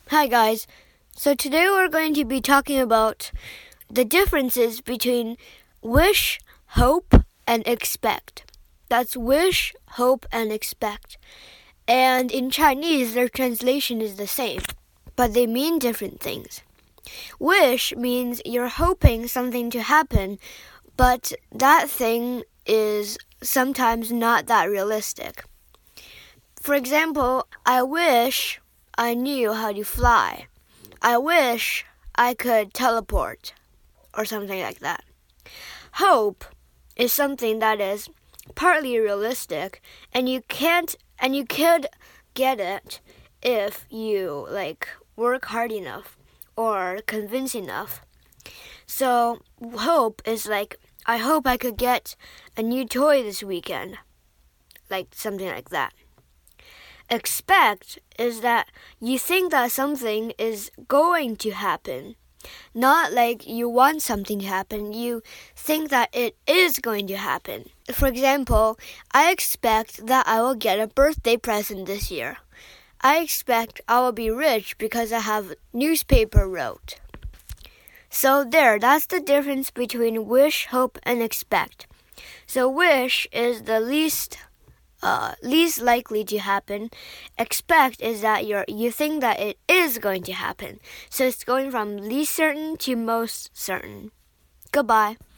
Hi guys, so today we're going to be talking about the differences between wish, hope, and expect. That's wish, hope, and expect. And in Chinese, their translation is the same, but they mean different things. Wish means you're hoping something to happen, but that thing is sometimes not that realistic. For example, I wish I knew how to fly. I wish I could teleport, or something like that. Hope is something that is partly realistic, and you could get it if you work hard enough or convince enough. So hope is I hope I could get a new toy this weekend, something like that. Expect is that you think that something is going to happen. Not like you want something to happen, you think that it is going to happen. For example, I expect that I will get a birthday present this year. I expect I will be rich because I have newspaper wrote. So that's the difference between wish, hope, and expect. So wish is the least likely to happen. Expect is that you think that it is going to happen. So it's going from least certain to most certain. Goodbye.